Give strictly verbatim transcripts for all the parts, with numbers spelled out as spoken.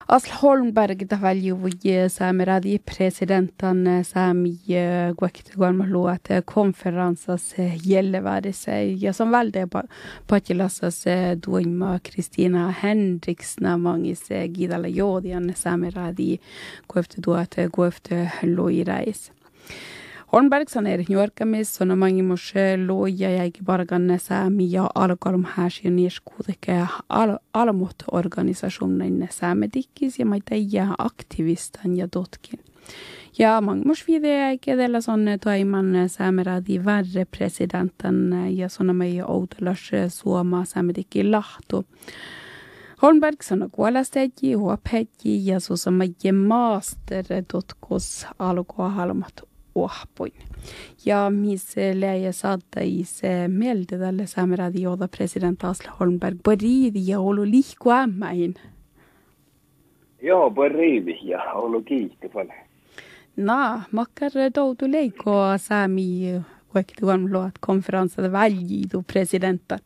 Asl Holmberg da väljuvuji saameradi presidentan saami guakitugalmaluat konferenssas gjellevärdese ja som välde patilassas duima Kristina Henriksna mangis gidala jodian saameradi guefte duat guefte loirais. Holmbergsan er njörkamis sona mangi moshe loja jäigi barganne saami ja alkalum häsi nieskuudeke al alamut organisasjonen saamedikkis ja maita ja aktivistan ja dotkin. Ja mangi mos vide jäigi edellä sonne toiman saameradi värre presidentan ja sona mai outelas suoma saamedikki lahtu. Holmbergsan on kuolastegi, huopegi ja susa mai master dotkos alkoa halmat ohpoin. Ja missä läjä saattaisi mieltä tälle saameradi joda president Asle Holmberg boriidi ja olu lihku ämmäin. Joo, boriidi ja olu kiitti paljon. Na, makkar doutu leikoa saami kuektuan luot konferenssata väljiitu presidentan.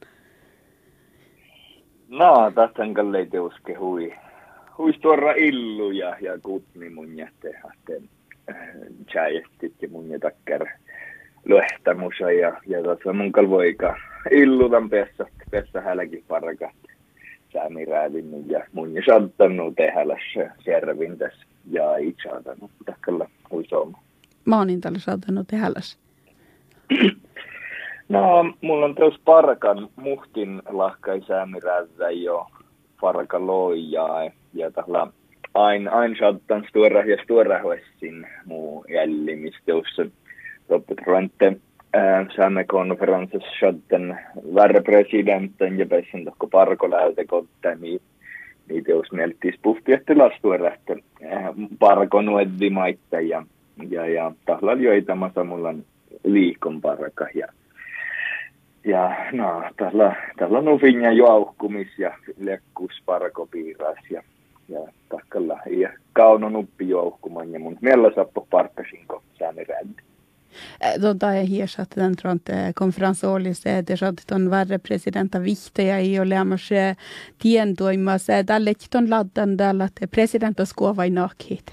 No, tästä kalle teuske hui. Hui tuora illu ja, ja kutni mun jättehahteen. Tjäjestit ja mun jätakkär löhtämusa ja, ja tässä mun kalvoika illutan pessä, pessä hälläkin parakat säämiräädin ja mun ja saattanut tehälässä servintäs ja itse saattanut takkalla huisooma. Mä oon niin tällä saattanut tehälässä. No, mulla on teos parakan muhtin lahkai säämiräädä jo paraka loijaa ja tällä Ain, ain saattan stora ja stora hoessin muu jällimisteossa. Lopputrante saamme konferenssissa saattan värre presidentin ja pääsin tohko parko lähte kotta, niin niitä jos mieltis puhti, että lastua että parko nueddi maitta ja, ja, ja tahla joitamassa mulla on liikon parka ja ja no, tahla, tahla nufin ja juaukkumis ja lekkus parko piiras ja ja takkalla ja kauno nuppi jouhkuman ja mun miellä sappo parkkasinko säämirändi. Tota ei hiesat den trante konferenssoolissa, että saat on värre presidenta vihtoja ei ole ammas tientoimassa. Tälle on laddan tällä, että presidenta skuovai nakhit.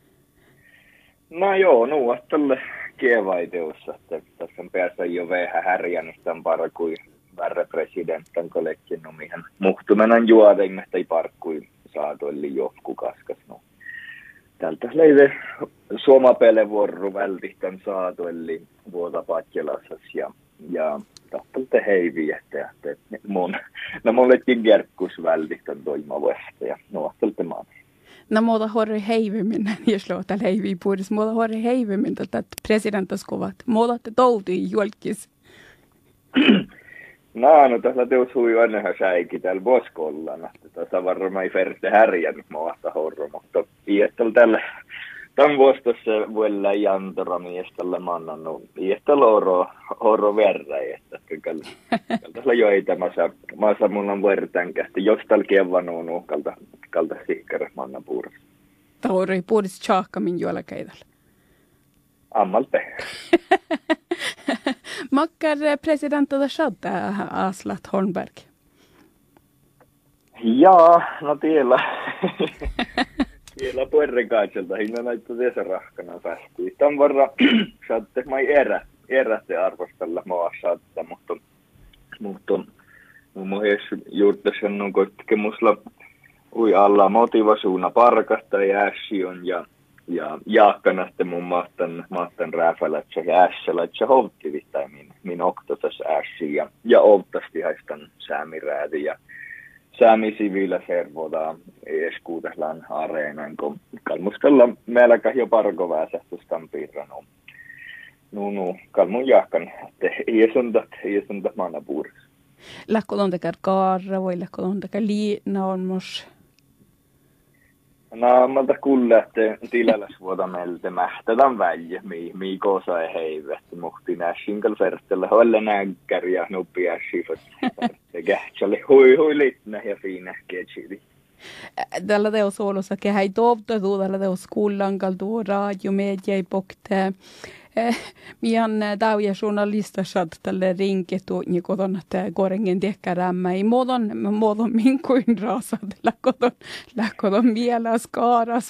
No joo, no tälle kievaiteossa, että tässä on päässä jo vähän härjänistä parkui värre presidentan kollekin nomihan muhtumenan juoden, että ei parkui saatoilli johku kaskas. No. Tältä leide suomapele vuoro vältihtan saatoilli vuota patjelassas ja, ja tahtalta heivi, että, että mun, no mullekin kerkkus vältihtan toimavasta ja nuohtalta maan. No muuta horri heivimmin, jos luota heivi puhdis, muuta horri heivimmin tätä presidentaskuvat. Muuta te toutui julkis. No, no tässä teus hui ainahan säikin täällä vuosikollana. Tässä varmaan ei ferte härjännyt maasta horro, mutta iättällä tällä tämän vuostossa vuonna jantora miestalle mannannut iättällä horro, horro verran, että kyllä tässä joitamassa maassa mun on vertankästi, jos täällä kievanuun uhkalta kalta sihkärä manna puurassa. Tauri puhdis tjaakkamin juolakeitällä. Ammalte. Makkar presidentata shadda Aslat Holmberg? Jaa, no tiellä. Tiellä puerrekaitselta hinna näitä tässä rahkana päästiin. Tämän varra saatte mai erä, erätte arvostella maa saattaa, mutta mutta mun mielestä juurta sanon, että musla ui alla motivasuuna parkasta ja ässi on ja ja jaakkanaste mun mahtan mahtan rääfälätsä ja ässälätsä houttivittain min min oktotas ässi ja ja outtasti haistan säämiräädi ja säämi siviilä servoda eskuutaslan areenan kun kalmustella meilläkä jo parko väsähtystan piirranu nu nu kalmun jaakkan te iesundat iesundat manna puurs läkkö on tekar kaarra voi läkkö on tekar liina on mos. No, malta kuulla, että tiläläs vuota meiltä mähtädän väljä, mii koosa ei heivet. Muhti näshinkal fertellä hoille nänkär ja nuppi ässifot. Se kähtsälle hui hui litnä ja fiinä ketsili. Tällä teos olossa kehäi toivtatu, tällä teos kuullankal tuo radio media ei pokte Mian täyjä journalista saat tälle rinketu, niin kotona tämä korengen tehkärämmä. Ei muodon, muodon minkuin raasat, lähkoton, lähkoton mielä skaaras.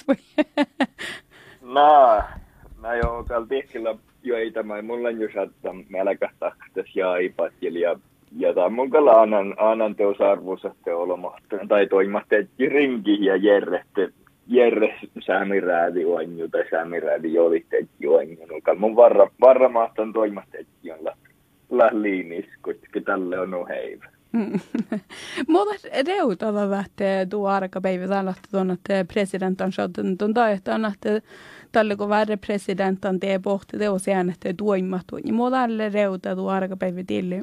No, mä jo täällä tehkillä joita mä mulla on just, että melkähtähtäs ja ipatteli ja ja tämä mun kalla annan, annan teos arvoisatte olematta, tai toimatta, että rinki ja järjeste, järjest säämiräädi oanju, tai säämiräädi jolitte, että oanju. Mun varra, varra mahtan toimatta, että on lähliinis, koska tälle on oheivä. Mutta reutalla lähtee tuo arkapäivä tällä tuonne, että presidentan saatan tuon taihtaan, että tälle kun värre presidentan tee pohti teos äänettä tuimattu, niin mua tälle reuta tuo arkapäivä tilli.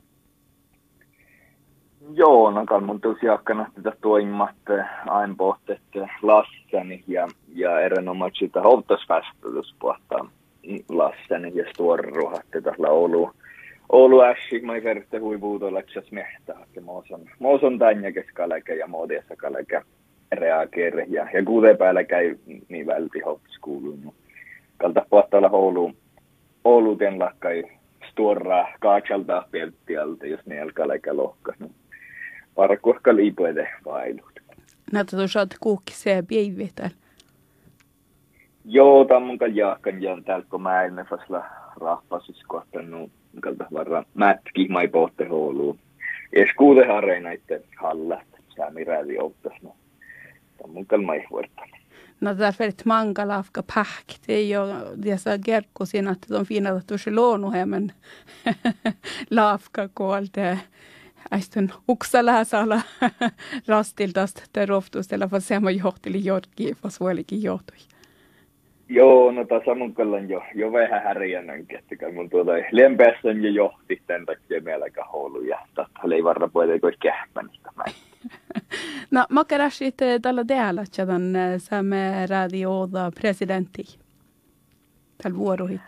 Joo, no kan mun tosiaan tätä toimimatta aina pohtet lassani ja, ja erinomaisesti sitä houtasvästötys pohtaa lassani ja stuorruhatte tällä Oulu. Oulu ässi, mä ei verrette huivuutolla, että se mehtää, että mä oon tänne keskalläkä ja muodiassa kalläkä reageere ja, ja kuuteen päällä käy niin välti houtaskuuluun. Kalta pohtaa olla Oulu, Oulu ten lakkai stuorraa kaaksalta pelttialta, jos ne alkaa läkä lohka. Parakuokka liipuede vailut. Näitä tuossa olet kuukkiseen päivä täällä. Joo, tämä mun jaakkan ja täällä kun mä en fasla rahpasis kohtanut kalta varra mätki mai pohte houluun. Es kuude hareinaitte hallat säämiräädi outtas. No, tämä mun kalma ei vuortana. No därför ett manga lafka pähkt. Det är ju dessa gerkkosin att de fina att tuossa luonuhemmen lafka koolte. Äistön uksalääsala rastiltasta teroftuustella, vaan se on johteli jorkkiin, vaan suolikin johtui. Joo, no tässä mun kallan jo, jo vähän härjänänkin, että mun tuota lempeässä jo johti tämän takia meilläkä houlu ja tätä ei varra puhuta kähmänistä. No, mä keräsit tällä täällä, että tämän saamme radioida presidentti tällä vuorohit.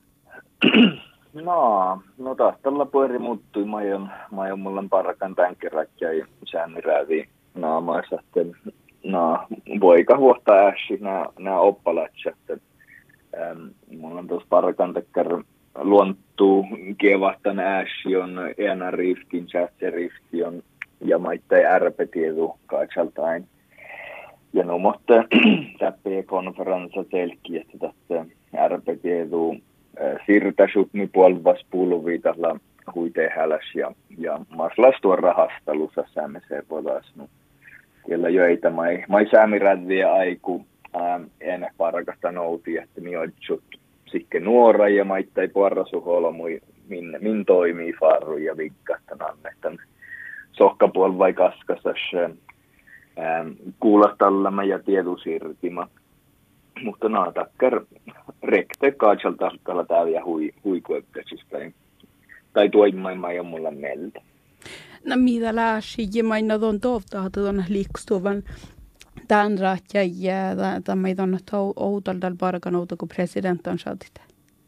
No, no taas tällä puoli muuttui. Mä oon, mä oon mulla parakan tämän kerran ja säännirääviin naamaissa, että no, voika huottaa ässi nämä oppalatsa, että ähm, mulla on tuossa parakan tekkar luonttuu kievahtan ässi on ena riftin, chatse rifti on ja maittai ärpetiedu kaaksaltain. Ja no, mutta täppiä konferenssa selki, että tässä ärpetiedu Sirtasutni puolvas pulvii tällä huitehäläs ja, ja maslastuon rahastelussa säämiseen podas. No, siellä joita mai, mai säämirädviä aiku ää, ennen parakasta nouti, että mi oitsut sikke nuora ja maittai puarrasuholo mui min, min toimii farru ja vikkastan annettan sohkapuolvai kaskasas kuulastallamme ja tiedusirtima. Mutta no, takkar rekte kaatsalta tällä täällä hui, huikueppäsis tai, tai tuoimaimaa ja mulla mieltä. No mitä läsi, ja maina tuon toivtaa tuon liikstuvan tämän rahtja ja tämä ei tuonne outoldal parakan outo, kun president on saatit.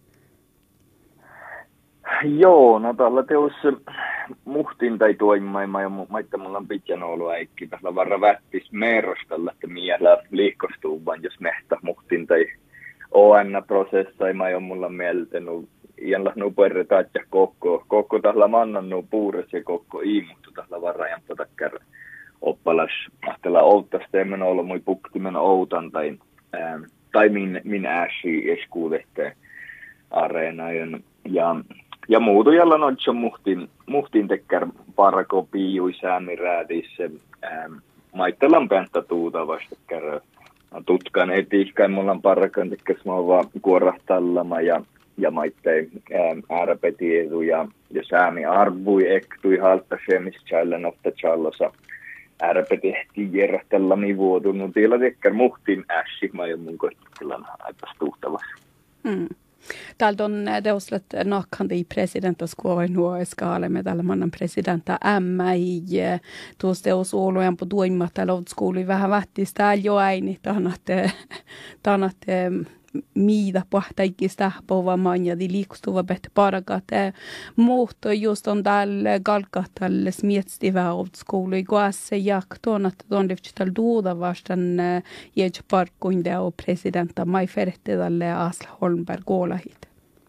Joo, no tällä teos muhtin tai tuoimaimaa ja maita mulla on pitän ollut äikki. Tällä varra vättis meerostalla, että miellä liikkostuu vaan jos mehtä muhtin tai O N-prosessa ei mä mulla mieltänyt. Iän lähnuu perretaat ja koko, koko tällä mannannut puures ja koko iimuttu tällä varrajan potakkär oppalas. Ahtella outtasta emmän ollut mui puktimen outan tai, ää, tai min, min ääsi eskuudette areenajan. Ja Ja muutujalla noitso muhtin, muhtin tekkär parako piiui säämiräädissä. Ähm, maittelan pääntä tuuta vastakkär. Tutkan etiikkaan mulla on parakan tekkäs mä oon vaan kuorahtallama ja, ja maittei ähm, ärpetiedu ja, ja säämi arvui ektui halta semiskällän ofta challosa. Ärpetehti järjeställami vuotunut. Tiellä tekkär muhtin ässi, mä oon mun koittakellan aika stuhtavassa. Mm. Täältä on teoslet nakkandi i presidentaskuva nuo skaalemme tällä mannan presidenta M I tuossa teos olujan på duimmat täällä skouli vähän vähtis täällä jo äini tahnatte tahnatte miida pohtaikista pova manja di liikustuva bättre parakat muutto just on täällä galkatalle smietstiva av skouli goasse jakton att de lyfter duda vastan jäj parkuinde och presidenta mai fertte tälle Asla Holmberg Golahit.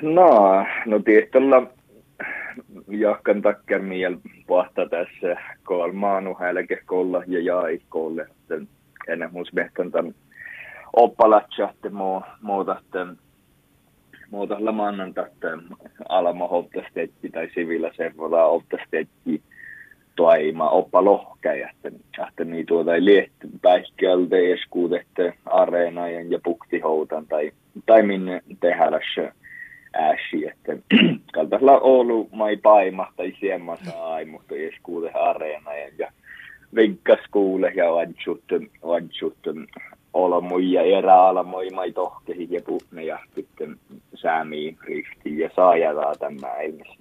No, no tietyllä jahkan takkar miel pohta tässä kolmaanu hälke kolla ja jäi kolle. Ennen muus mehtän tämän oppalatsa, että muuta, että muuta lamannan tästä alama hoptasteetti tai sivillä servoda hoptasteetti toima oppa lohkäjä, että niin tuota ei liehty päihkältä eskuudette areenajan ja puktihoutan tai, tai minne tehälässä ääsi, että kaltaisella Oulu mai paima tai siemma sai, mutta eskuude areenajan ja vinkaskuule ja vadsut, vadsut olamoi ja eräalamoi mai tohkehi ja puhne ja sitten säämiin riftiin ja saajataa tämä ilmis.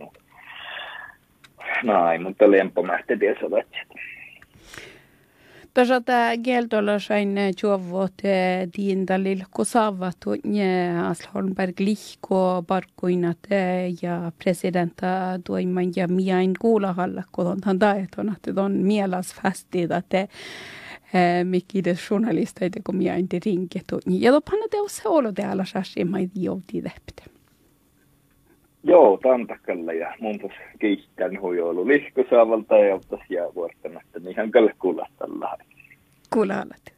Näin, mutta lempomähti tiesä vatsit. Tässä tämä kieltolla sain juovot diindalil kusaavat ja Asholmberg lihko parkkuinat ja presidenta toiman ja miain kuulahalla kodontan taeton, että on mielasfästi, että mikides journalisteita kun miain te rinket. Ja topanna teossa olo täällä sassi mai jouti täptä. Joo, tantakalla ja mun tos kiittän huijoulu lihkusaavalta ja ottais jää vuortamatta, niin ihan kyllä kuulla tällä. Kuulla